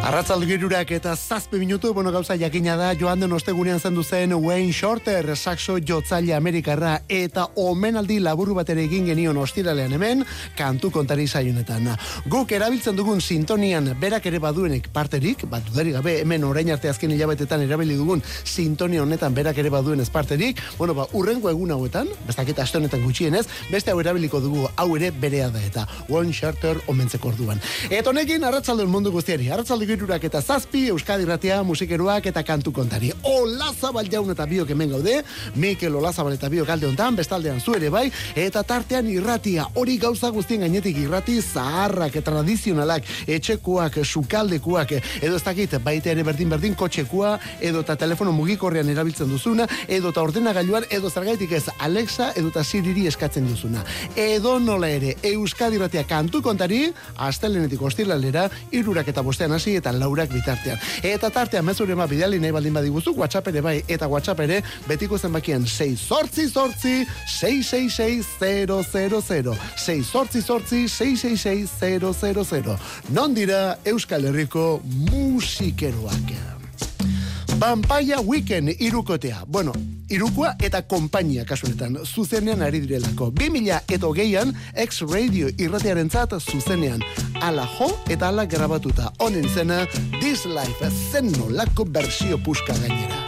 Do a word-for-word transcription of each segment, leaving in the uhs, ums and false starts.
Arratzalde girurak eta zazpi minutu, bueno, gauza jakina da, joan den ostegunean zendu zen Wayne Shorter, saxo jotzaile Amerikarra, eta omenaldi laburu bat ere egin genion ostiralean hemen, kantu kontari saionetan. Guk erabiltzen dugun sintonian berak ere baduenek parterik, bat dudarik gabe, hemen orain arte azken hilabetetan erabili dugun sintonia honetan berak ere baduen ez parterik, bueno, ba, urrengo egun hauetan, bestaketa aste honetan gutxienez, beste hau erabiliko dugu, hau ere berea da eta Wayne Shorter omentzeko orduan. Eta honekin, arratzalde mundu guztiari, arratzalde girurak eta zazpi, Euskadi Irratia, musikeroak eta kantu kontari. Olazabal jaun eta biok hemen gaude, Mikel Olazabal eta biok alde hontan, bestaldean zu ere bai, eta tartean irratia, hori gauza guztien gainetik irrati zaharrak, tradizionalak, etxekoak, sukaldekuak, edo ez dakit, baita ere berdin-berdin kotxekua, edo eta telefono mugikorrean erabiltzen duzuna, edo eta ordenagailuan, edo zergaitik ez Alexa, edo eta Siriri eskatzen duzuna. Edo nola ere, Euskadi Irratia kantu kontari, astelenetik ostiralera, irurak eta bostean hasi eta laurak bitartean. Eta tartean mezure ma bidali nahi baldin badiguzu, WhatsApp ere bai, eta WhatsApp ere betiko zenbakian sei zortzi zortzi sei sei sei zero zero zero sei zortzi zortzi sei sei sei zero zero zero. Non dira Euskal Herriko musikeroak. Vampire Weekend irukotea. Bueno, irukoa eta konpainia kasunetan zuzenean ari direlako. bi mila eta hogeian X-Radio irratiarentzat zuzenean. Ala jo eta ala grabatuta. Honen zena This Life zen nolako bersio puska gainera.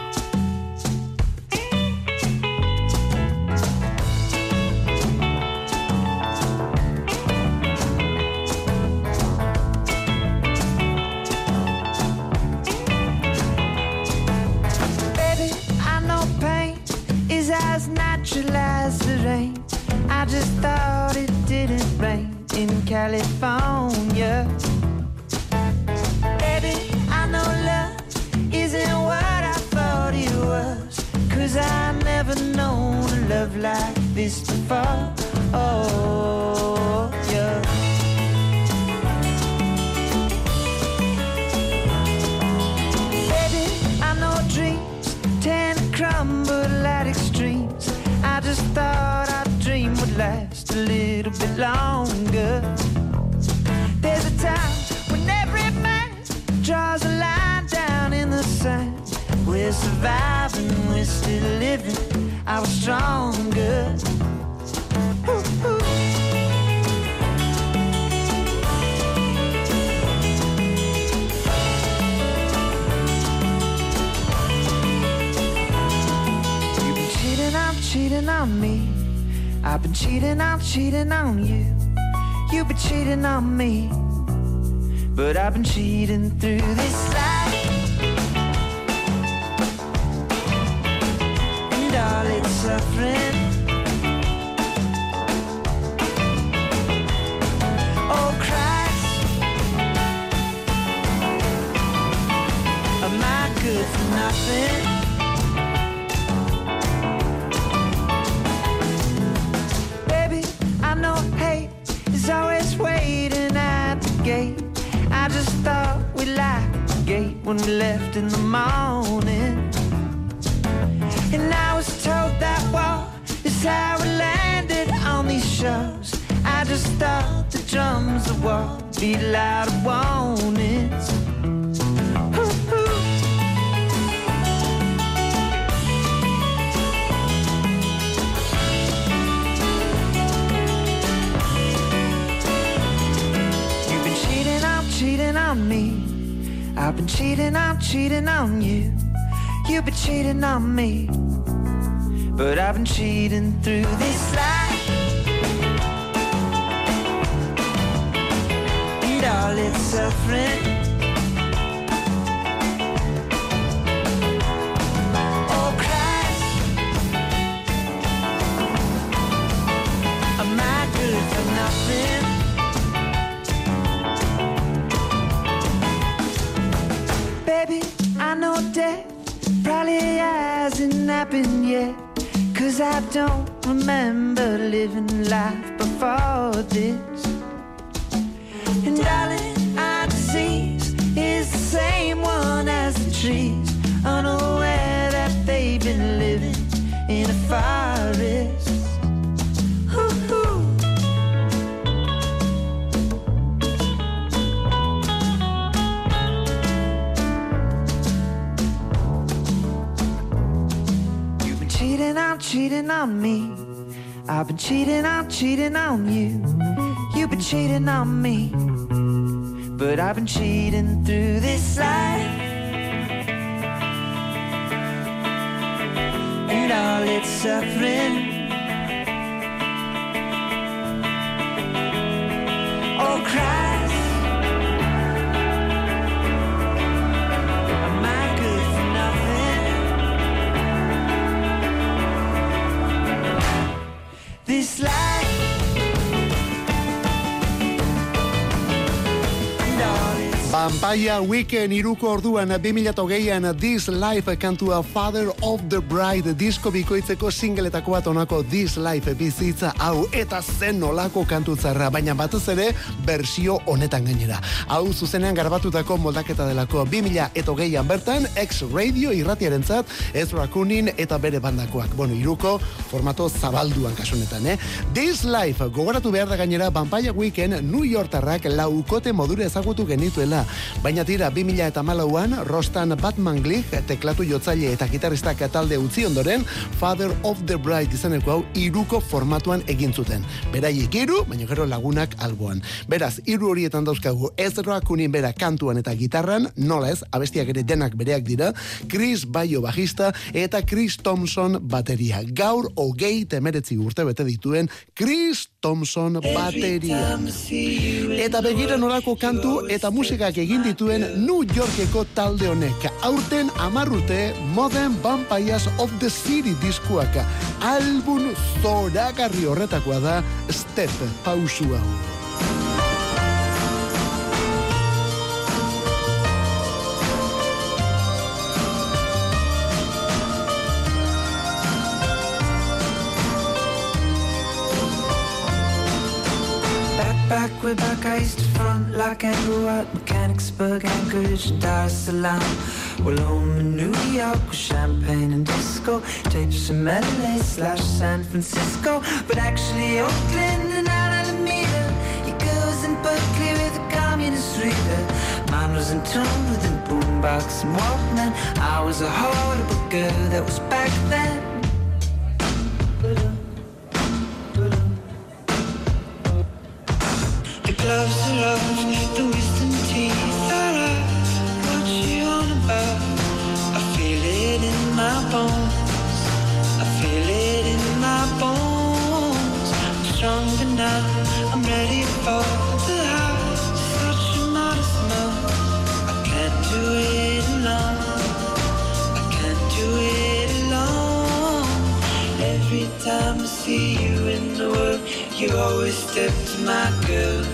As natural as the rain, I just thought it didn't rain in California. Baby, I know love isn't what I thought it was, 'cause I never known a love like this before. Oh, yeah. Baby, I know dreams tend to crumble at extremes. I just thought our dream would last a little bit longer. There's a time when every man draws a line down in the sand. We're surviving, we're still living, I was stronger. Ooh, ooh. Cheating on me, I've been cheating, I'm cheating on you. You've been cheating on me, but I've been cheating through this life, and all its suffering. Oh Christ, am I good for nothing? Is always waiting at the gate. I just thought we locked the gate when we left in the morning, and I was told that war is how we landed on these shores. I just thought the drums of war beat loud warnings. Ooh, ooh. Cheating on me, I've been cheating, I'm cheating on you. You've been cheating on me, but I've been cheating through this life, and all its suffering. Oh Christ, am I good for nothing? Baby, I know death probably hasn't happened yet, 'cause I don't remember living life before this. And darling, our disease is the same one as the trees, unaware that they've been living in a forest. Ooh, ooh. cheating on me. I've been cheating on, cheating on you. You've been cheating on me. But I've been cheating through this life. And all its suffering. Oh, Christ, am I good for nothing? This life. Vampire Weekend iruko orduan bi mila hogeian This Life kantua Father of the Bride disko bikoitzeko singletako bat onako This Life bizitza hau eta zen nolako kantutzarra, baina batez ere bersio honetan gainera. Hau zuzenean garbatutako moldaketa delako bi mila hogeian bertan X-Radio irratiarentzat Ezra Kunin eta bere bandakoak. Bueno, iruko formato zabalduan kasunetan, eh? This Life gogoratu behar da gainera Vampire Weekend New Yorkerrak laukote modura ezagutu genituela. Baina tira, bi mila hamalauan Rostan Batman Glig, teklatu jotzaile eta gitarristak talde utzi ondoren, Father of the Bride izeneko hau iruko formatuan egin zuten. Beraiek iru, baina gero lagunak alboan. Beraz, iru horietan dauzkagu Ezra Kunin bera kantuan eta gitarran, nola ez, abestiak ere denak bereak dira, Chris Baio bajista eta Chris Thompson bateria. Gaur hogei temeretzi urte bete dituen Chris Thompson bateria. Eta begira nolako kantu eta musikak egin dituen New Yorkeko talde honek. Aurten amarrute Modern Vampires of the City diskuak. Album zoragarri horretakoa da Step pausu hau. Back way back, I used to front like Andrew at Mechanicsburg, Anchorage, and Dar es Salaam. Well, home in New York with champagne and disco, tapes from L A slash San Francisco, but actually Oakland and Alameda. Your girls in Berkeley with a communist reader. Mine was in tune with a boombox and Walkman. I was a horrible girl that was back then. Gloves are off, the wisdom teeth are out. What you on about? I feel it in my bones. I feel it in my bones. I'm stronger now, I'm ready for the house. Such a modest mouth. I can't do it alone. I can't do it alone. Every time I see you in the world, you always step to my girl.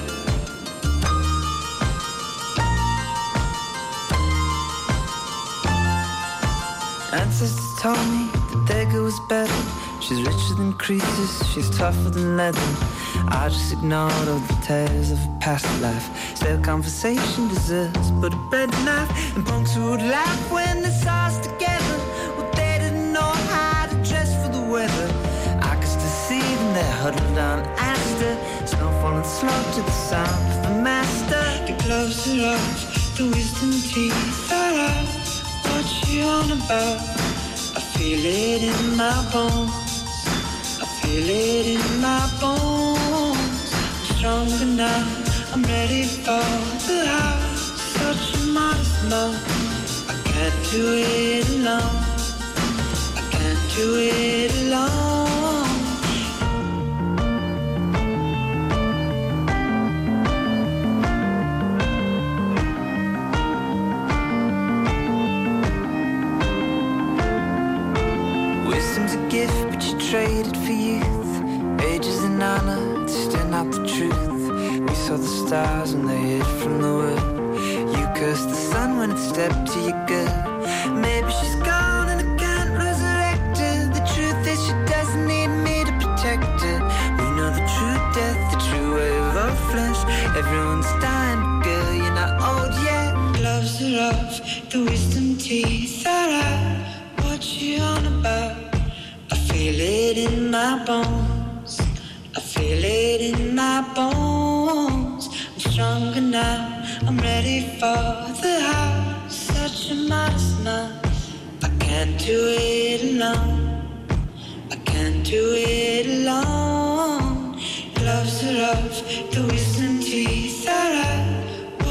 Ancestors told me that their girl was better. She's richer than Croesus, she's tougher than leather. I just ignored all the tales of a past life. Still conversation deserves but a bread knife. And punks who would laugh when they saw us together. Well, they didn't know how to dress for the weather. I could still see them there huddled on Astor. Snow falling slow to the sound of the master. The gloves are off, the wisdom teeth are out. What you on about? I feel it in my bones. I feel it in my bones. I'm stronger now, I'm ready for the house. Such a modest mouth. I can't do it alone. I can't do it alone. Gift, but you traded for youth. Ages and honor, it's still not the truth. We saw the stars when they hid from the world. You cursed the sun when it stepped to your girl. Maybe she's gone and I can't resurrect her. The truth is she doesn't need me to protect her. We know the true death, the true wave of flesh. Everyone's dying, but girl, you're not old yet. Gloves are off, the wisdom teeth are out. What you on about? I feel it in my bones. I feel it in my bones. I'm stronger now, I'm ready for the house. Such a modest mouth. I can't do it alone. I can't can't do it alone. Gloves are off, the wisdom teeth are out.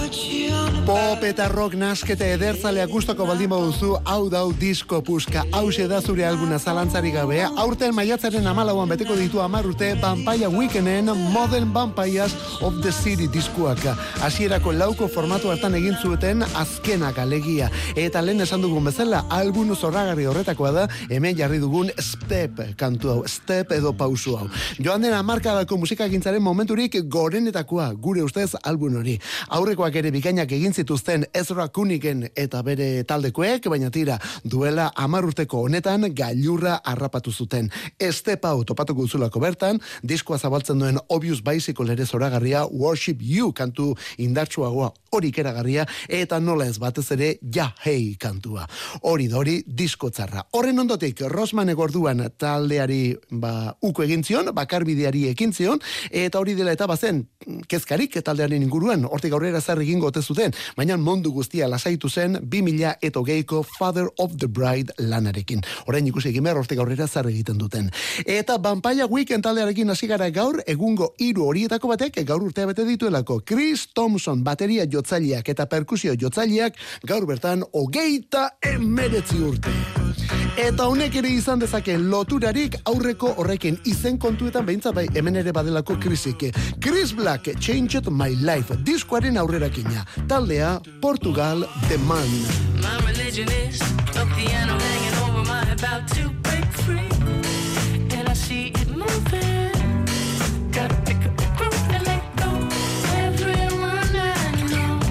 Pop eta rock nasketa edertzalea gustoko baldin baduzu, hau dau disko puska, hause da zure albuna zalantzari gabe. Aurten maiatzaren hamalauan beteko ditu hamar urte Vampire Weekenden Modern Vampires of the City diskuak. Hasierako lauko formatu hartan egin zuten azkenak alegia. Eta lehen esan dugun bezala, album zoragarri horretakoa da, hemen jarri dugun Step kantu hau, Step edo pausu hau. Joan den hamarkadako musikagintzaren momenturik gorenetakoa, gure ustez album hori. Aurrekoak ere bikainak egin zituzten Ezra Kunigen eta bere taldekoek, baina tira, duela hamar urteko honetan gailurra harrapatu zuten. Step hau topatuko duzulako bertan, diskoa zabaltzen duen Obvious Bicycle ere zoragarria, Worship You kantu indartsuagoa hori keragarria, eta nola ez batez ere Ja Hey kantua. Hori da hori disko txarra. Horren ondotik, Rosman egorduan taldeari ba, uko egin zion, bakarbideari ekin zion, eta hori dela eta bazen, kezkarik taldearen inguruan, hortik aurrera zer egingo ote zuten, baina mundu guztia lasaitu zen bi mila hogeiko Father of the Bride lanarekin. Orain ikusi egin behar hortik aurrera zer egiten duten. Eta Vampire Weekend taldearekin hasi gara gaur, egungo hiru horietako batek gaur urtea bete dituelako. Chris Thompson, bateria jotzaileak eta perkusio jotzaileak gaur bertan hogeita emeretzi urte. Eta honek ere izan dezake loturarik aurreko horrekin izen kontuetan behintzat bai hemen ere badelako Chrisik. Chris Black, Changed My Life, diskoaren aurrerakina. Taldea, Portugal, The Man. My religion is a piano hanging over my about to break free. And I see it moving. Gotta pick up the groove and let go. Everyone I know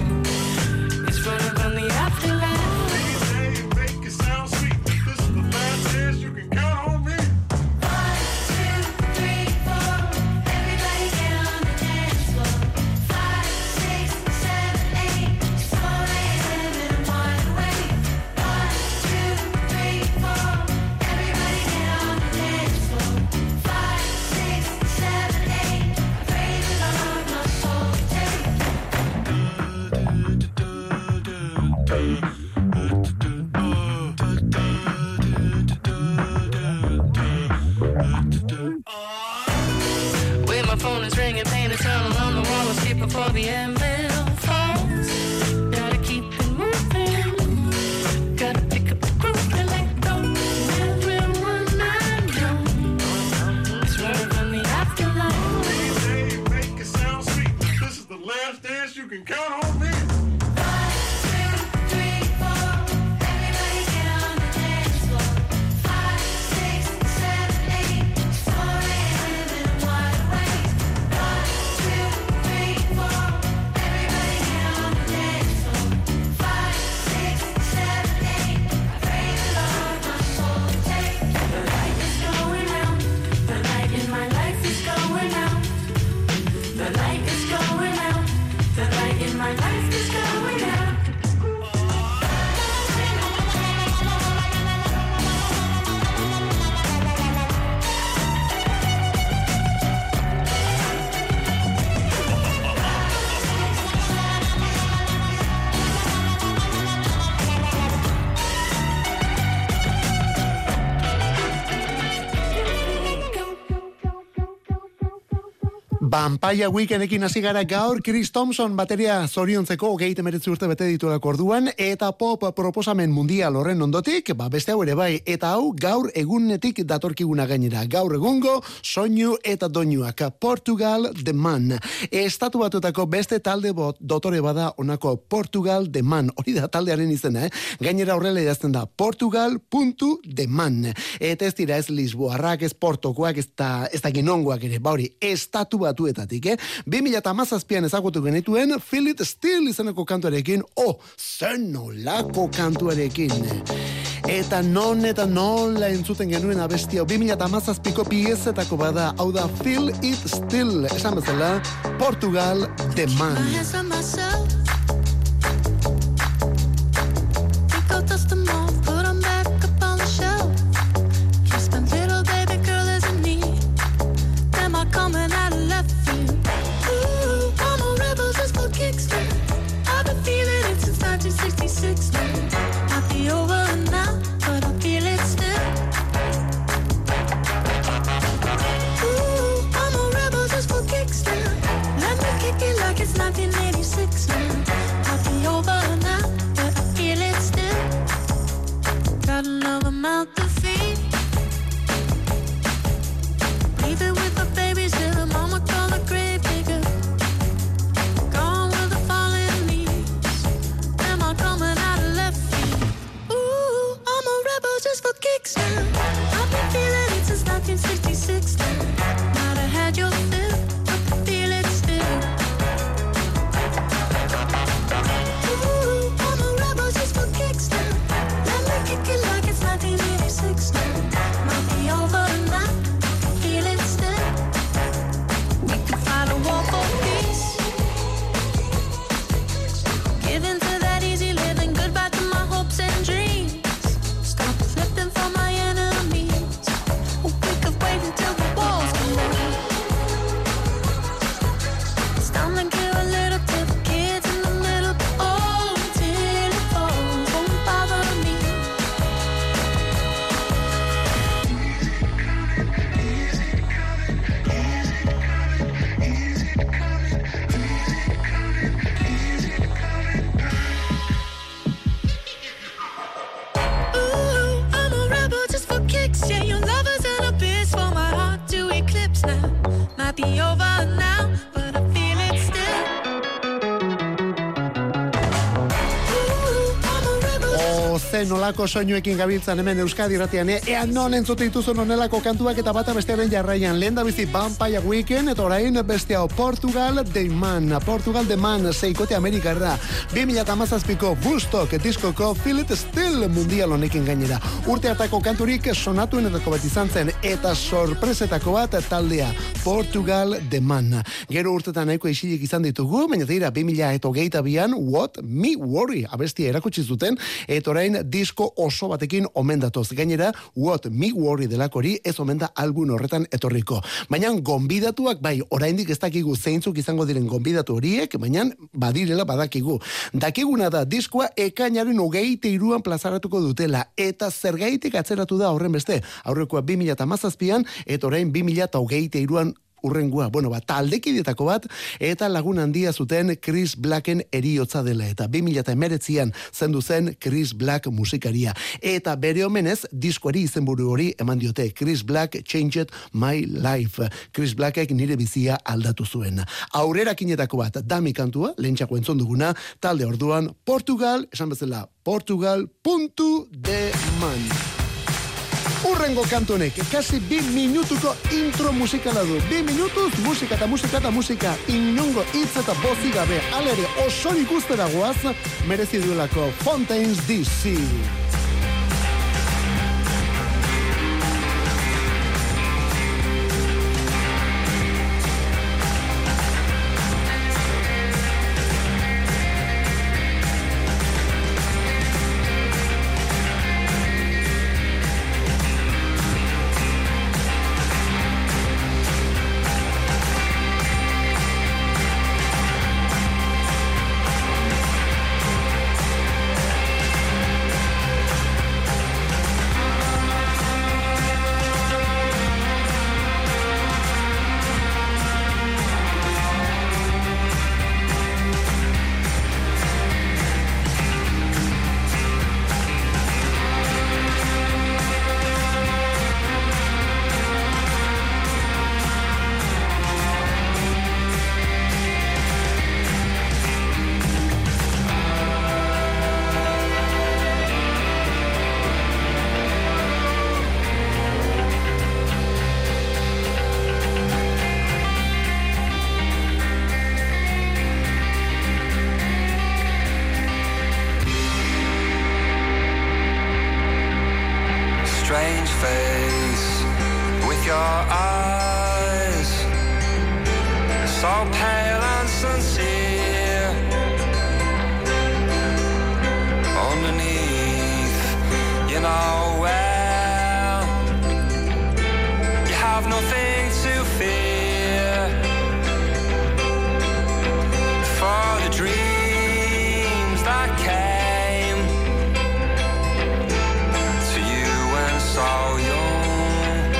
is running from the afterlife. Hey, make it sound sweet. This is the last chance you can count on me. One, two, three, four. Everybody get on the dance floor. Five, six, seven, eight. It's four a.m. and I'm wide awake. One, two, three, four. Everybody get on the dance floor. Five, six, seven, eight. I pray the Lord my soul take. Where my phone is ringing, paint a tunnel on the wall, escape before the anvil falls. Gotta keep it moving. Gotta pick up the groove and let go. Everyone I know is running from the afterlife. Hey, make it sound sweet. This is the last dance you can count on me. One, two, three, four. Everybody get on the dance floor. Five, six, seven, eight. It's four a.m. and I'm wide awake. One, two, three, four. Everybody get on the dance floor. Five, six, seven, eight. I pray the Lord my soul take. The light is going out. The light in my life is going out. The light is going out. The light in my life is going out. Vampire Weekendekin hasi gara gaur, Chris Thompson bateria zoriontzeko hogeita hemeretzi urte bete dituelako orduan, eta pop proposamen mundial horren ondotik, ba beste hau ere bai, eta hau gaur egunetik datorkiguna gainera. Gaur egungo soinu eta doinuak, Portugal The Man. Estatu Batuetako beste talde bot, dotore bada onako Portugal The Man. Hori da taldearen izena, eh? Gainera horrela idazten da, Portugal.The Man. Eta ez dira ez Lisboarrak, ez Portokoak, ez da, ez da ginongoak ere, ba hori, Estatu Batuetatik, eh? bi mila hamazazpian ezagutu genituen Feel It Still izeneko kantuarekin, oh, zen nolako kantuarekin. Eta non eta nola entzuten genuen abestia, bi mila hamazazpiko piezetako bada, hau da Feel It Still, esan bezala, Portugal The Man. My hands on myself. Think I'll dust them off, put them back up on the shelf. Just a little baby girl isn't me. Am I coming out of left field? Ooh, I'm a rebel just for kicks now. I've been feeling it since nineteen sixty-six now. Might be over now, but I feel it still. be over now, but I feel it still. Ooh, I'm a rebel. O ze nolako soinuekin gabiltzan hemen Euskadi irratian, eh? Ea non entzute dituzun onelako kantuak eta bata bestearen jarraian. Lehen da bizi Vampire Weekend, eta orain beste hau Portugal The Man. Portugal The Man, seikote Amerikarra. bi mila hamazazpiko Woodstock diskoko Feel It Still mundial honekin gainera. Urte hartako kanturik sonatuenetako bat izan zen, eta sorpresetako bat taldea Portugal The Man. Gero urtetan nahiko isilik izan ditugu, baina dira bi mila hogeita bian What Me Worry abestia erakutsi zuten, eta orain disko oso batekin omen datoz. Gainera, What Me Worry delakori ez omen da album horretan etorriko. Baina gonbidatuak bai, oraindik ez dakigu zeintzuk izango diren gonbidatu horiek, baina badirela badakigu. Dakiguna da diskoa ekainaren hogeita hiruan plazaratuko dutela, eta zergaitik atzeratu da horren beste. Aurrekoa bi mila hamazazpian, eta orain bi mila hogeita hiruan urrengua, bueno, bat, taldekidetako bat, eta lagun handia zuten Chris Blacken eriotza dela, eta bi mila emeretzian zendu zen Chris Black musikaria. Eta bere omenez, diskoari izenburu hori eman diote, Chris Black Changed My Life. Chris Blackek nire bizia aldatu zuen. Aurrerakinetako bat, dami kantua, lehentxako entzun duguna, talde orduan, Portugal, esan bezala, Portugal puntu de man. Urrengo kantonek, kasi bi minutuko intro musikala du. Bi minutuz, musika eta musika eta musika, inongo hitz eta bozi gabe, alere osorik ustera goaz, merezi duelako Fontaines D C. Strange face with your eyes, so pale and sincere. Underneath, you know well, you have nothing to fear. For the dreams that came to you when so young,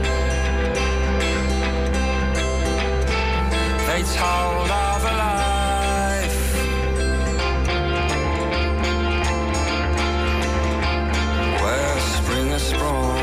they told of a life where spring has sprung.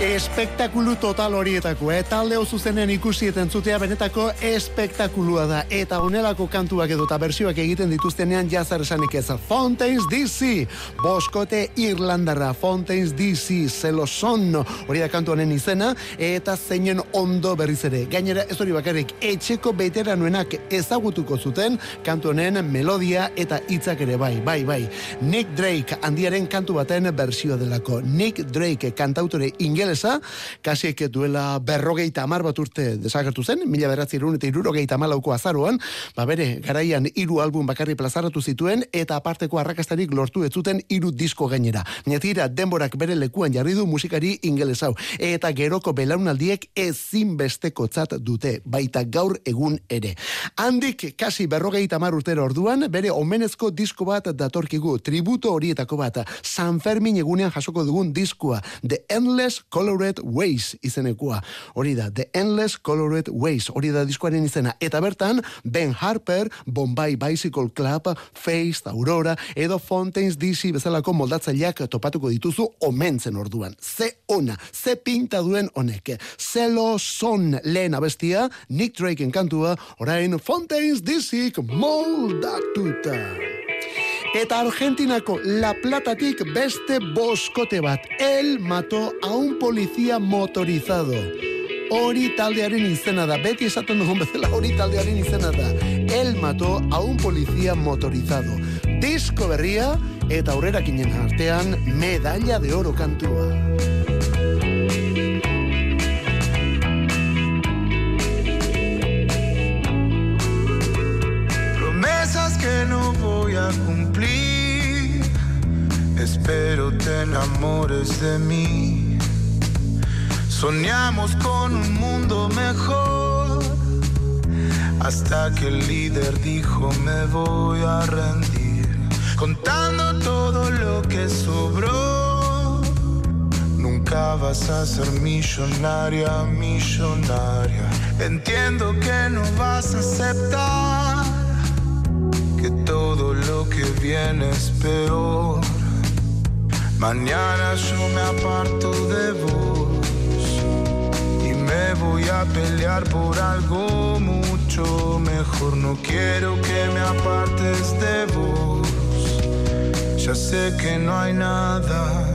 Espektakulu total horietako, eh? Talde zuzenen ikusi eta entzutea benetako espektakulua da. Eta honelako kantuak edo eta bersioak egiten dituztenean jazar esanik ez. Fontaines D C, boskote Irlandarra, Fontaines D C, Zeloson, hori da kantu honen izena, eta zeinen ondo berriz ere. Gainera, ez hori bakarrik, etxeko veteranoenak ezagutuko zuten kantu honen melodia eta hitzak ere bai, bai, bai. Nick Drake, handiaren kantu baten bersio delako. Nick Drake, kantautore ingelesa, kasiek duela berrogeita hamar bat urte desagertu zen, mila bederatziehun eta hirurogeita hamalauko azaroan, ba bere, garaian hiru album bakarri plazaratu zituen, eta aparteko arrakastarik lortu ez zuten hiru disko gainera. Baina denborak bere lekuan jarri du musikari ingeles hau, eta geroko belaunaldiek ezinbestekotzat dute, baita gaur egun ere. Handik kasi berrogeita hamar urtera orduan, bere omenezko disko bat datorkigu, tributo horietako bat, San Fermin egunean jasoko dugun diskoa, The Endless Colored Ways izenekua. Hori da, The Endless Colored Ways, hori da diskoaren izena. Eta bertan, Ben Harper, Bombay Bicycle Club, Face, Aurora, edo Fontaines D C bezalako moldatzaileak topatuko dituzu omentzen orduan. Ze ona, ze pinta duen honek. Zeloson lehen abestia, Nick Drakeen kantua, orain Fontaines D C moldatuta. Eta Argentinako La Platatik beste boskote bat. Él mató a un policía motorizado. Hori taldearen izena da. Beti esaten dugun bezala hori taldearen izena da. Él mató a un policía motorizado. Disko berria eta aurrerakinen artean medalla de oro kantua. Promesas que no voy a cumplir. Espero te enamores de mí. Soñamos con un mundo mejor, hasta que el líder dijo me voy a rendir. Contando todo lo que sobró, nunca vas a ser millonaria, millonaria. Entiendo que no vas a aceptar que todo lo que viene es peor. Mañana yo me aparto de vos y me voy a pelear por algo mucho mejor. No quiero que me apartes de vos. Ya sé que no hay nada.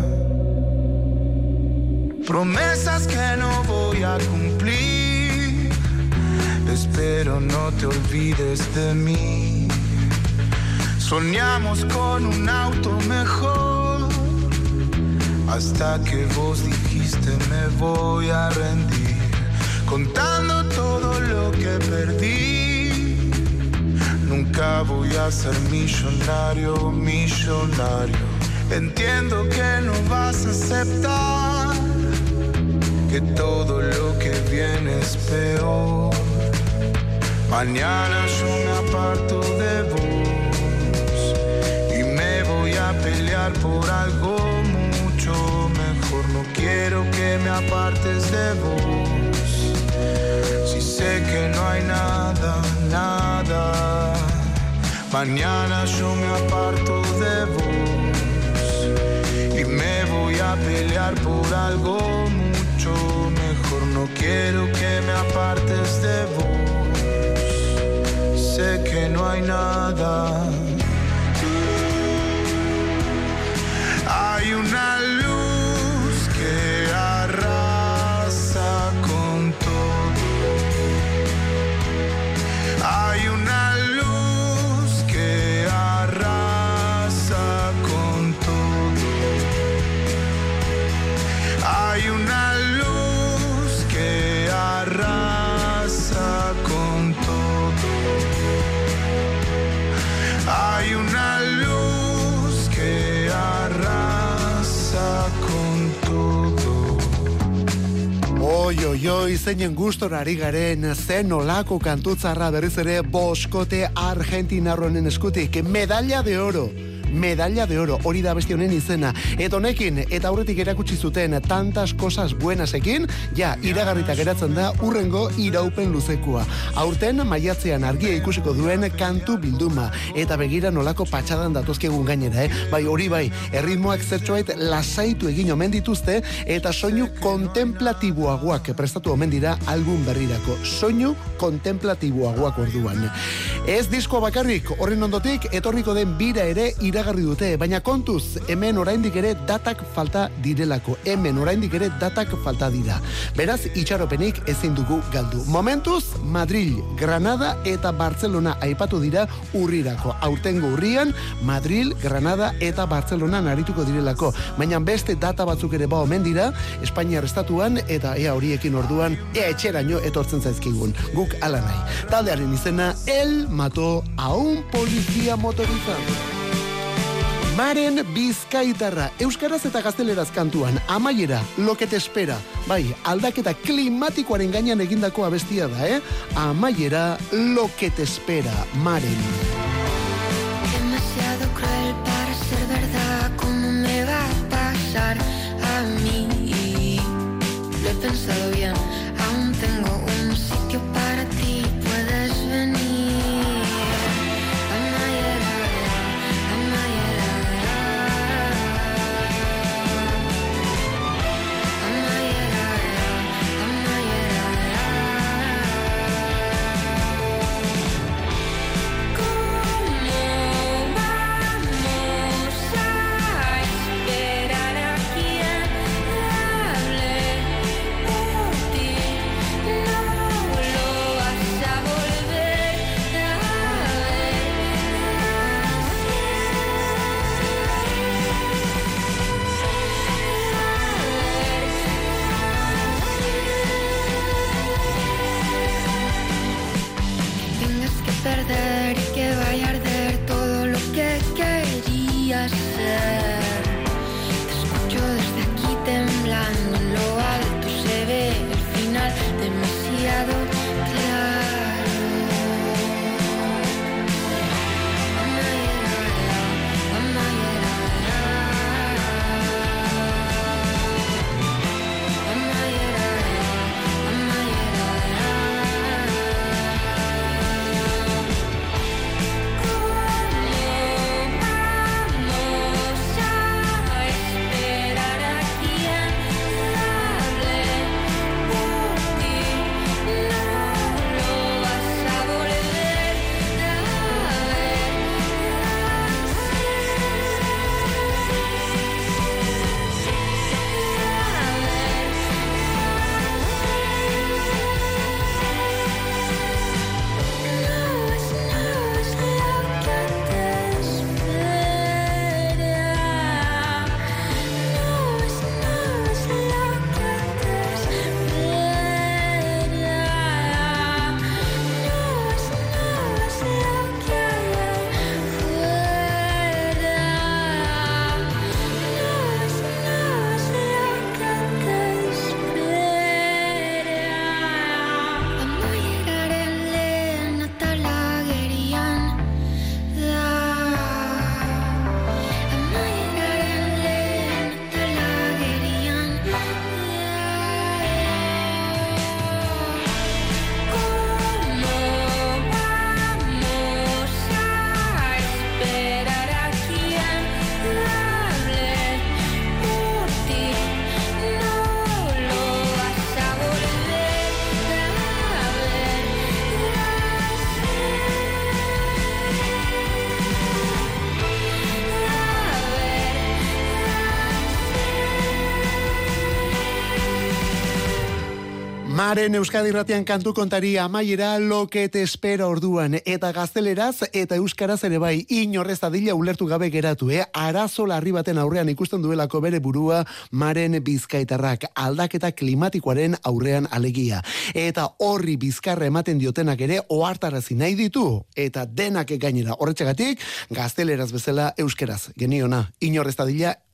Promesas que no voy a cumplir. Espero no te olvides de mí. Soñamos con un auto mejor, hasta que vos dijiste me voy a rendir. Contando todo lo que perdí, nunca voy a ser millonario, millonario. Entiendo que no vas a aceptar que todo lo que viene es peor. Mañana yo me aparto de vos y me voy a pelear por algo mucho mejor. No quiero que me apartes de vos. Si sé que no hay nada, nada. Mañana yo me aparto de vos y me voy a pelear por algo mucho mejor. No quiero que me apartes de vos. Sé que no hay nada. Hay una luz que arrasa con todo. Hay una luz que arrasa con todo. Hay una luz que arrasa con todo. Hay una luz que arrasa con todo. Oi, oi, oi, zeinen gustora ari garen, zen olako kantutzarra berriz ere boskote argentinarronen eskutik, medalla de oro. medalla de oro, hori da beste honen izena. Eta honekin, eta aurretik erakutsi zuten tantas cosas buenasekin, ja, iragarrita geratzen da urrengo iraupen luzekoa. Aurten maiatzean argia ikusiko duen kantu bilduma, eta begira nolako patxadan datozkegun gainera, eh? Bai, hori bai, erritmoak zertxoait lasaitu egin omen dituzte, eta soinu kontemplatiboagoak prestatu omen dira album berrirako. Soinu kontemplatiboagoak orduan. Ez disko bakarrik, horren ondotik, etorriko den bira ere iragarri dute, baina kontuz, hemen oraindik ere datak falta direlako. Hemen oraindik ere datak falta dira. Beraz, itxaropenik ezin dugu galdu. Momentuz, Madrid, Granada eta Barcelona aipatu dira urrirako. Aurtengo urrian, Madrid, Granada eta Barcelona narituko direlako. Baina beste data batzuk ere ba omen dira, Espainiar estatuan eta ea horiekin orduan, ea etxeraino etortzen zaizkigun. Guk ala nahi. Taldearen izena, El mató a un policía motorizado. Maren Bizkaitarra, euskaraz eta gazteleraz kantuan, amaiera, lo que te espera. Bai, aldaketa klimatikoaren gainean egindako abestia da, eh? Amaiera, lo que te espera, Maren. Demasiado cruel para ser verdad, ¿cómo me va a pasar a mí? Lo he pensado bien, aún tengo un sitio para ti, puedes venir. Perder y que vaya a arder todo lo que quería ser. Te escucho desde aquí temblando, en lo alto se ve el final demasiado claro. Maren Euskadi Irratian kantu kontari amaiera lo que te espera orduan, eta gazteleraz eta euskaraz ere bai, inorrez dadila ulertu gabe geratu, eh? Arazo larri baten aurrean ikusten duelako bere burua Maren Bizkaitarrak, aldaketa klimatikoaren aurrean alegia. Eta horri bizkarra ematen diotenak ere ohartarazi nahi ditu, eta denak gainera horretxegatik gazteleraz bezala euskaraz, geniona, inorrez dadila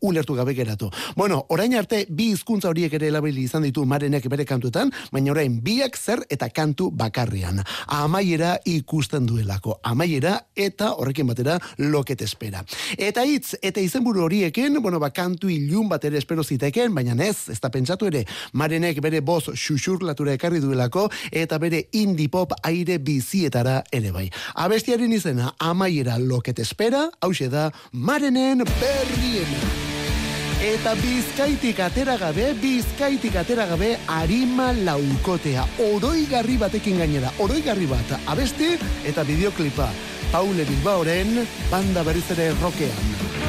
ulertu gabe geratu. Bueno, orain arte bi hizkuntza horiek ere erabili izan ditu Marenek bere kantuetan, baina orain biak zer eta kantu bakarrian. Amaiera ikusten duelako. Amaiera eta horrekin batera lo que te espera. Eta hitz eta izenburu horiekin, bueno, ba kantu ilun bat ere espero ziteken, baina ez, ez da pentsatu ere, Marenek bere boz xuxurlatura ekarri duelako eta bere indie pop aire bizietara ere bai. Abestiaren izena Amaiera lo que te espera, hauxe da Marenen Berriena. Eta Bizkaitik atera gabe, Bizkaitik atera gabe Arima laukotea. Oroigarri batekin gainera, oroigarri bat, abesti eta bideoklipa. Paule Bilbaoren banda berriz ere rokean.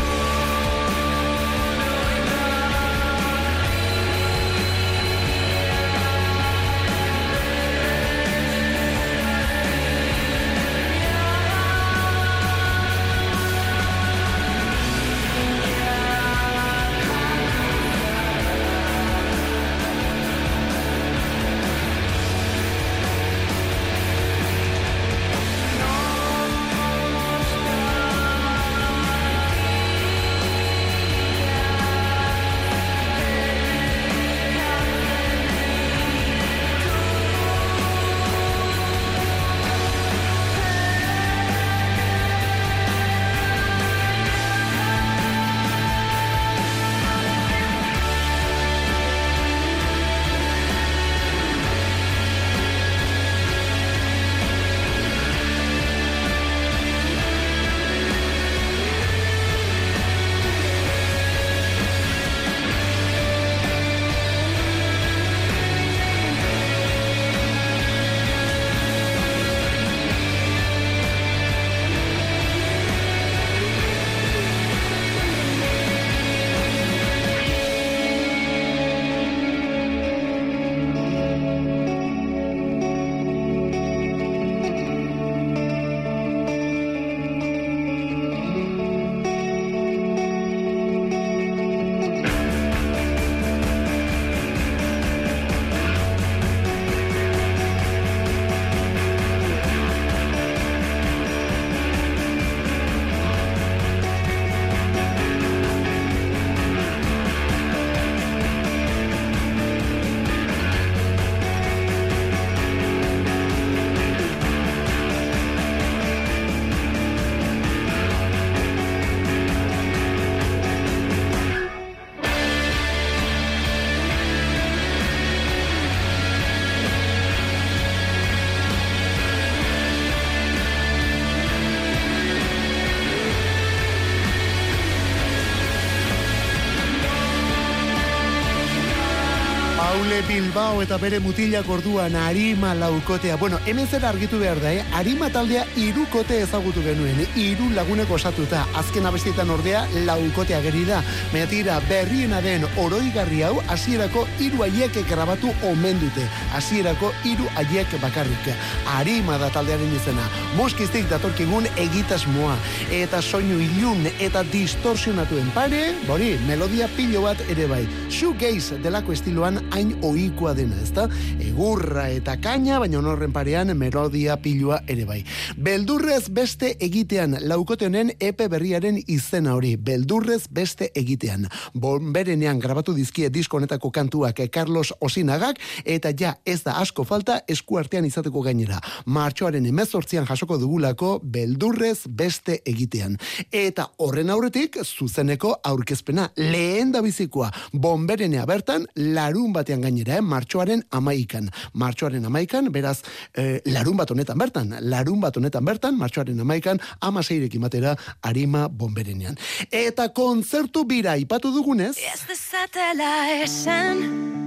Paule Bilbao eta bere mutilak orduan Arima laukotea. Bueno, hemen zer argitu behar da, eh? Arima taldea hirukote ezagutu genuen, hiru laguneko osatuta. Azken abestietan ordea laukotea geri da. Baina tira, berriena den oroigarri hau hasierako hiru haiek grabatu omen dute. Hasierako hiru haiek bakarrik. Arima da taldearen izena. Moskiztik datorkigun egitasmoa eta soinu ilun eta distorsionatuen pare, bori, melodia pilo bat ere bai. Shoegaze delako estiloan hain ohikoa dena, ezta? Egurra eta kaina, baina horren parean melodia pilua ere bai. Beldurrez beste egitean, laukote honen epe berriaren izena hori. Beldurrez beste egitean. Bonberenean grabatu dizkie disko honetako kantuak Carlos Osinagak, eta ja ez da asko falta eskuartean izateko gainera. Martxoaren hemezortzian jasoko dugulako beldurrez beste egitean. Eta horren aurretik zuzeneko aurkezpena lehen da bizikoa. Bonberenea bertan larun batean gainera, eh? Martxoaren amaikan. Martxoaren amaikan, beraz, eh, larun bat honetan bertan, larun bat honetan bertan, martxoaren amaikan, amaseirekin batera Arima Bonberenean. Eta kontzertu bira ipatu dugunez, Ez dezatela esan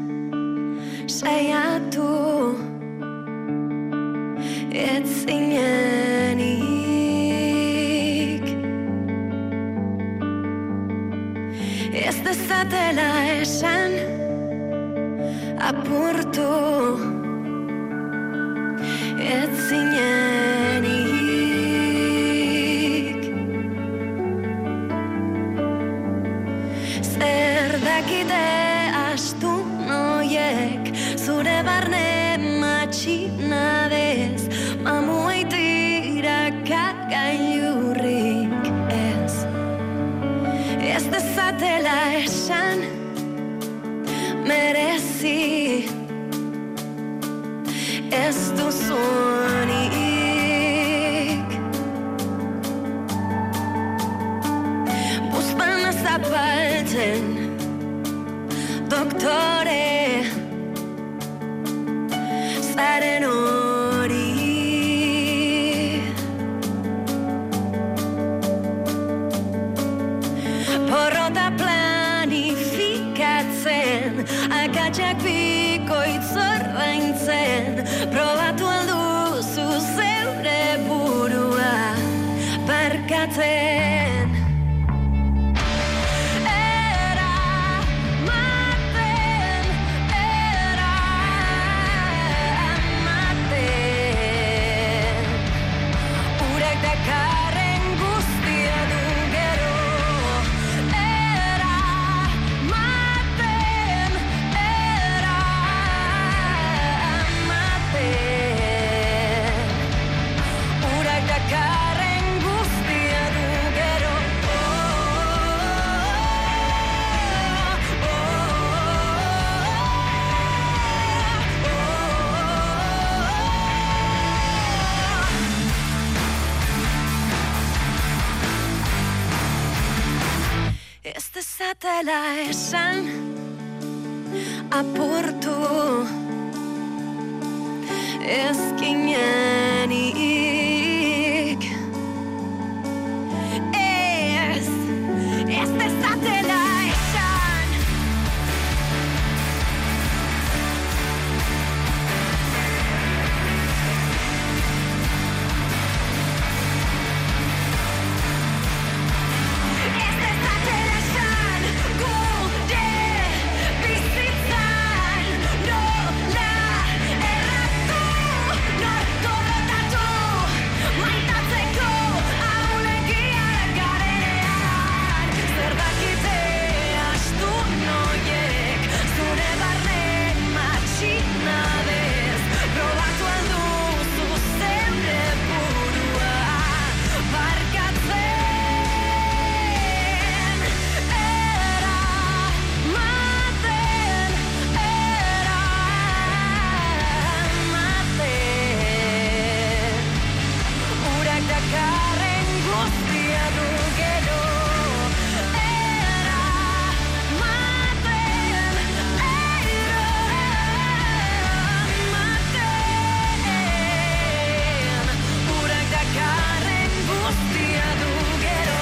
saiatu ez zinenik, ez dezatela esan apurtu ez zinenik. Zer dakite astu noiek zure barne matxinadez mamuaitira kagailurrik ez. Ez dezat dezatela esan merezi ez duzunik. Buzpana zapaltzen doktore zaren hori. Porrota planifikatzen, akatsak bikoitz ordaintzen, probatu alduzu zeure burua barkatzen. Dezatela esan apurtu ezkinenik. Ez, ez dezatela esan. Ez dezatela esan gure bizitzan nola erratu, nor gorrotatu, maitatzeko ahulegiak garenean. Zer dakite astu noiek zure barne matxinadez, probatu alduzu zeure burua barkatzen. Urak dakarren guztia du gero. Eramaten, eramaten. Urak dakarren guztia du gero.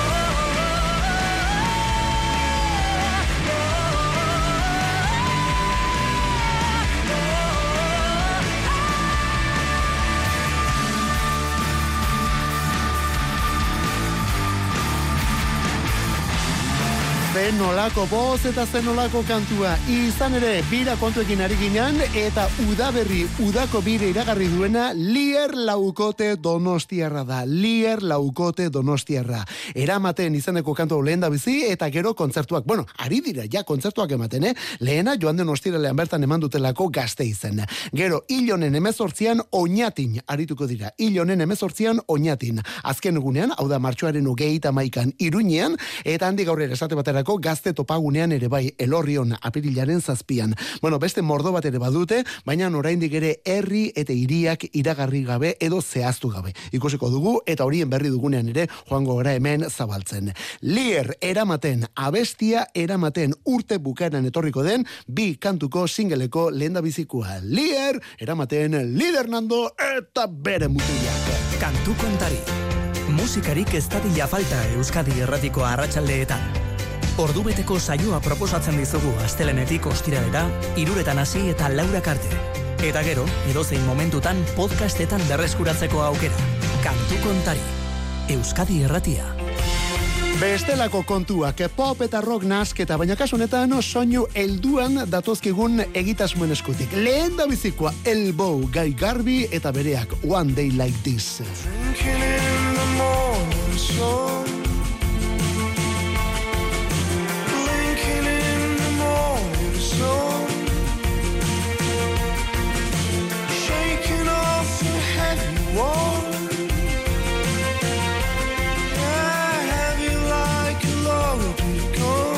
Zenolako boz eta zenolako kantua. Izan ere, bira kontuekin ari ginen, eta udaberri, udako bire iragarri duena, Lier Laukote Donostiarra da. Lier Laukote Donostiarra. Eramaten izeneko kantu lehen da bizi, eta gero kontzertuak. Bueno, ari dira, ja kontzertuak ematen, eh? Lehena, joan den ostiralean bertan eman dutelako Gazte izen. Gero, hilonen emezortzian oinatin arituko dira. Hilonen emezortzian oinatin. Azken egunean, hau da martxoaren hogeita maikan Iruñean, eta handi gaur ere esate baterako Gazte topagunean ere bai, Elorrion apirilaren zazpian. Bueno, beste mordo bat ere badute, baina oraindik ere herri eta hiriak iragarri gabe edo zehaztu gabe. Ikusiko dugu eta horien berri dugunean ere joango gara hemen zabaltzen. Lier eramaten, abestia eramaten, urte bukaeran etorriko den bi kantuko singeleko lehendabizikoa. Lier eramaten, Lider Nando eta bere mutilak. Kantu kontari. Musikarik ez dadila falta Euskadi Erratiko arratsaldeetan. Ordubeteko saioa proposatzen dizugu astelenetik ostiralera, hiruretan hasi eta laurak arte. Eta gero, edozein momentutan podcastetan berreskuratzeko aukera. Kantu kontari. Euskadi Erratia. Bestelako kontuak, pop eta rock nasketa, baina kasu honetan soinu helduan datozkigun egitasmoen eskutik. Lehen da bizikoa, Elbow, Gai Garbi eta bereak One Day Like This. Drinking in the morning sun, blinking in the morning sun, shaking off the heavy wall. Yeah, heavy like a loaded gun.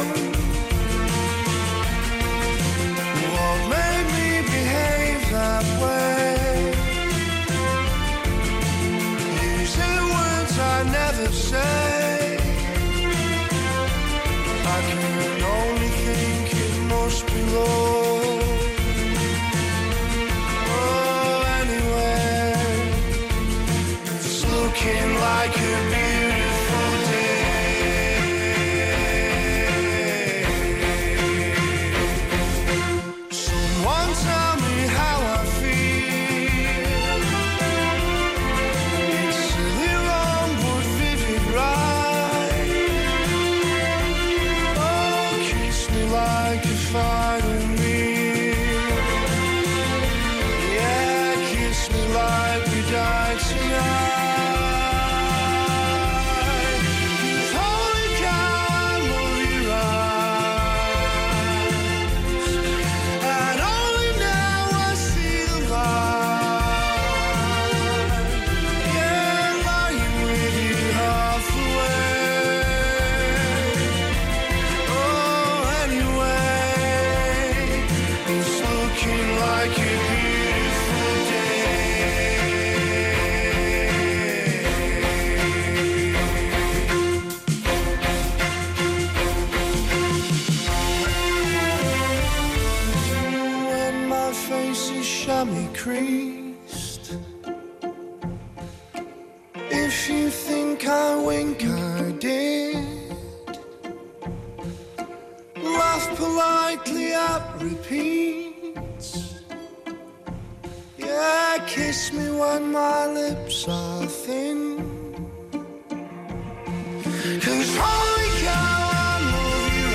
like a beautiful day. Someone tell me how I feel. It's silly wrong but vivid right. Oh, kiss me like a final meal. Yeah, kiss me like we died tonight. Creased. If you think I wink, I did. Laugh politely at repeats. Yeah, kiss me when my lips are thin. 'Cause holy cow, I love you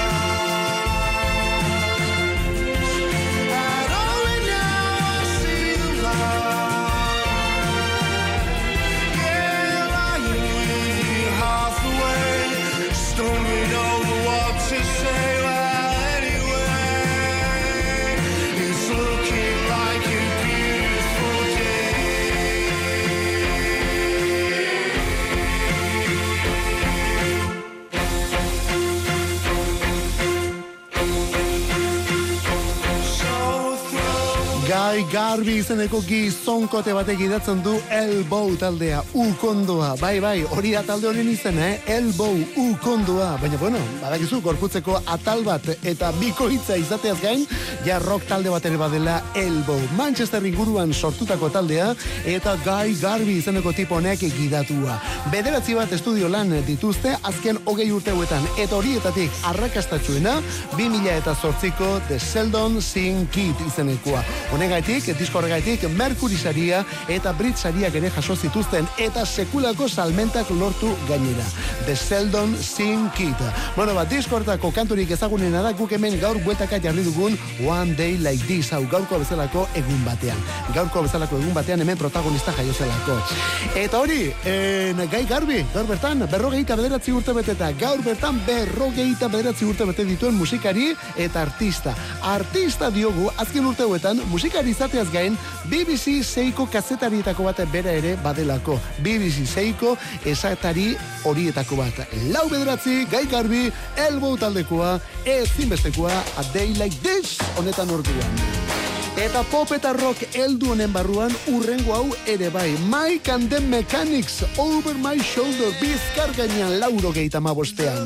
Guy Garvey izeneko gizonkote batek idatzen du Elbow taldea, ukondoa. Bai, bai, hori da talde honen izena, eh? Elbow, ukondoa. Baina, bueno, badakizu, gorputzeko atal bat eta bikoitza izateaz gain, ja rock talde bat ere badela Elbow. Manchester inguruan sortutako taldea eta Guy Garvey izeneko tipo honek gidatua. Bederatzi bat estudio lan dituzte azken hogei urteuetan eta horietatik arrakastatsuena bi mila zortziko The Sheldon Sing Kid izenekoa. Honegaitik, disko horregaitik, Mercury saria eta Brit sariak ere jaso zituzten eta sekulako salmentak lortu gainera. The Sheldon Sing Kid. Bueno, bat, disko horretako kanturik ezagunena da guk hemen gaur bueltaka jarri dugun One Day Like This, hau gaurko bezalako egun batean. Gaurko bezalako egun batean hemen protagonista jaio zelako. Eta hori, en, Guy Garvey, gaur bertan, berrogeita bederatzi urte bete eta gaur bertan berrogeita bederatzi urte bete dituen musikari eta artista. Artista diogu, azken urteuetan, musikari izateaz gain, B B C Seiko kazetarietako bat bera ere badelako. B B C Seiko esatari horietako bat. Lau bederatzi, Guy Garvey, Elbow taldekoa, ezinbestekoa, A Day Like This, honetan orduan. Eta pop eta rock heldu honen barruan urrengo hau ere bai. Mike and the Mechanics, Over My Shoulder, bizkar gainean lauro geita mabostean.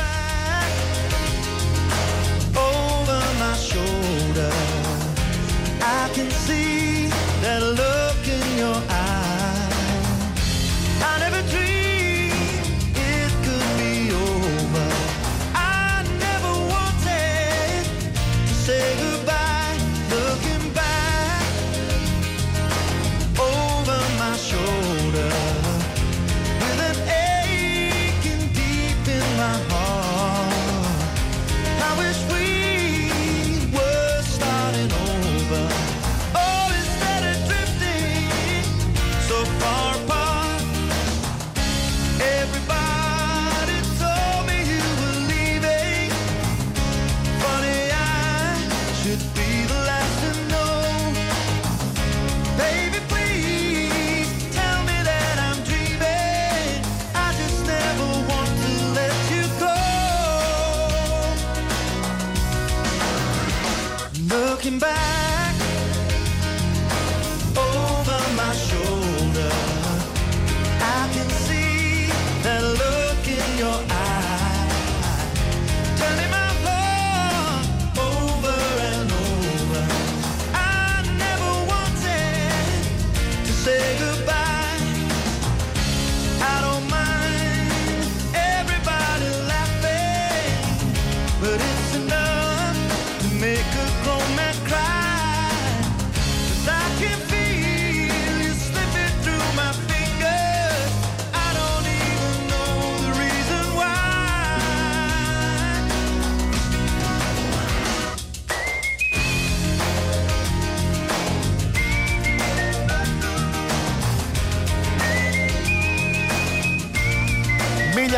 Over my shoulder, I can see that look in your eye. I never dreamed it could be over. I never wanted to say goodbye. Looking back over my shoulder, with an aching deep in my heart. I wish we were starting over. Oh, instead of drifting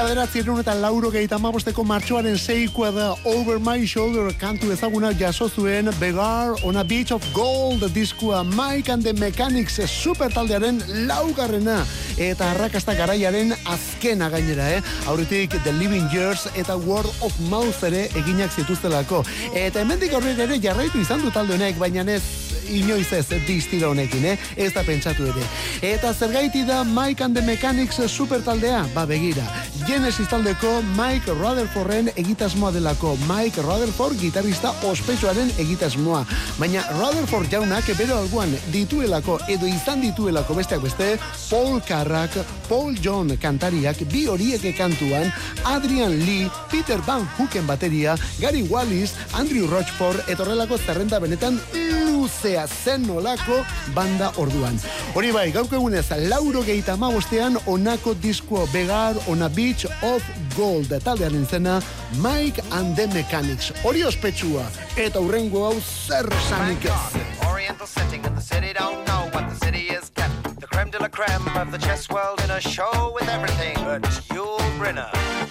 bederatziehun eta laurogeita hamabosteko martxoaren seikoa da Over My Shoulder kantu ezaguna jaso zuen Begar on a Beach of Gold diskua Mike and the Mechanics super taldearen laugarrena eta arrakasta garaiaren azkena gainera, eh? Aurretik The Living Years eta Word of Mouth ere eginak zituztelako. Eta hemendik aurrera ere jarraitu izan du talde honek, baina ez inoiz ez distira honekin, eh? Ez da pentsatu ere. Eta zergaiti da Mike and the Mechanics super taldea? Ba begira, Genesis taldeko Mike Rutherforden egitasmoa delako. Mike Rutherford gitarrista ospetsuaren egitasmoa. Baina Rutherford jaunak bere alboan dituelako edo izan dituelako besteak beste Paul Carrack, Paul John kantariak, bi horiek kantuan, Adrian Lee, Peter Van Hooken bateria, Gary Wallis, Andrew Rochford, etorrelako zerrenda benetan luzea zen nolako banda orduan. Hori bai, gaurko egunez, laurogeita hamabostean onako disko Begar on a Beach of Gold taldearen zena Mike and the Mechanics. Hori ospetsua eta hurrengo hau zer sanik ez. Oriental setting in the city, don't know what the city is kept. The creme de la creme of the chess world in a show with everything but Yul Brynner.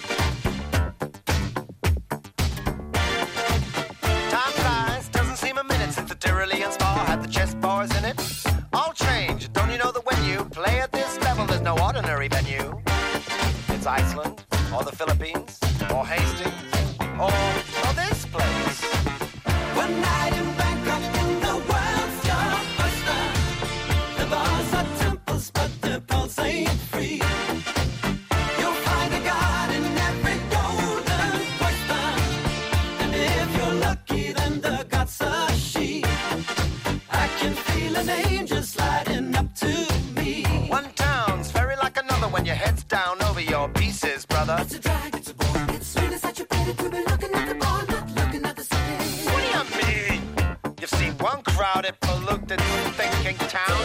Time flies, doesn't seem a minute since the Tyrolean spa had the chess bars in it. All change, don't you know that when you play at this level, there's no ordinary venue. It's Iceland, or the Philippines, or Hastings, or, or this place. One night in Bangkok in the world's your oyster. The bars are temples, but the pulse ain't free. You'll find a god in every golden oyster. And if you're lucky, then the god's a she. I can feel an angel sliding up to me. One town's very like another when your head's down over your pieces, brother. It's a drag, it's a bore. It's sweet as such a pity to be looking at the bar, not looking at the city. What do you mean? You've seen one crowded, polluted, thinking town.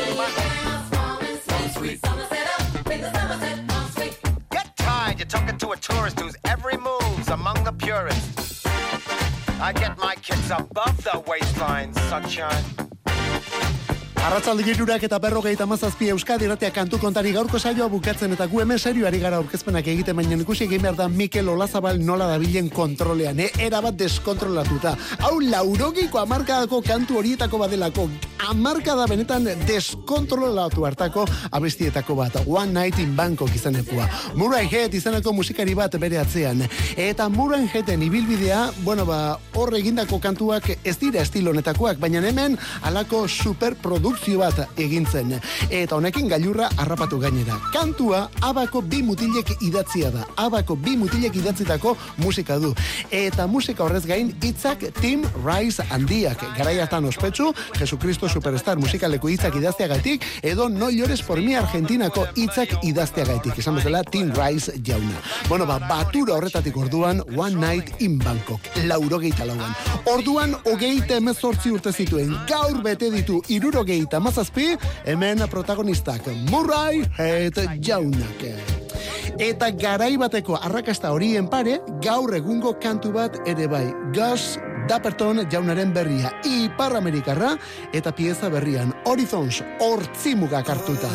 Get tired, you're talking to a tourist whose every move's among the purists. I get my kids above the waistline, sunshine. Arratzalde girurak eta berrogeita hamazazpi Euskadi Irratia kantu kontari gaurko saioa bukatzen eta gu hemen serioari gara aurkezpenak egiten, baina ikusi egin behar da Mikel Olazabal nola dabilen kontrolean, eh? Erabat deskontrolatuta. Hau laurogeiko hamarkadako kantu horietako badelako, hamarkada benetan deskontrolatu hartako abestietako bat, One Night in Bangkok izanekoa. Murray Head izaneko musikari bat bere atzean. Eta Murray Headen ibilbidea, bueno ba, hor egindako kantuak ez dira estilo honetakoak, baina hemen alako superprodukzio bat egintzen. Eta honekin gailurra harrapatu gainera. Kantua Abako bi mutilek idatzia da. Abako bi mutilek idatzitako musika du. Eta musika horrez gain hitzak Tim Rice handiak. Garai hartan ospetsu, Jesucristo Superstar musikaleko hitzak idazteagatik edo No llores por mi Argentinako hitzak idazteagatik. Esan bezala Tim Rice jauna. Bueno, ba, batura horretatik orduan One Night in Bangkok. Laurogeita lauan. Orduan hogeita hemezortzi urte zituen. Gaur bete ditu hirurogeita hamazazpi, hemen protagonistak Murray Head jaunak. Eta garai bateko arrakasta horien pare, gaur egungo kantu bat ere bai. Gus Dapperton jaunaren berria, Ipar Amerikarra eta pieza berrian Horizons hortzimugak hartuta.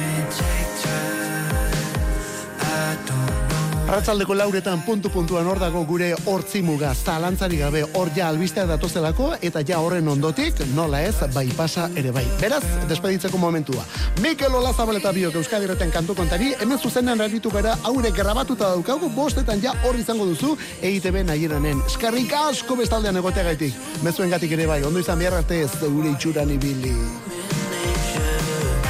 Arratzaldeko lauretan puntu-puntuan hor dago gure hortzimuga, zalantzari gabe hor ja albisteak datozelako eta ja horren ondotik nola ez bai pasa ere bai. Beraz, despeditzeko momentua. Mikel Olazabal eta biok Euskadi Irratian kantu kontari, hemen zuzenean aritu gara, haure grabatuta daukagu, bostetan ja hor izango duzu E I T B nahieranen. Eskarrik asko bestaldean egoteagaitik. Mezuen gatik ere bai, ondo izan behar arte ez gure itxuran ibili.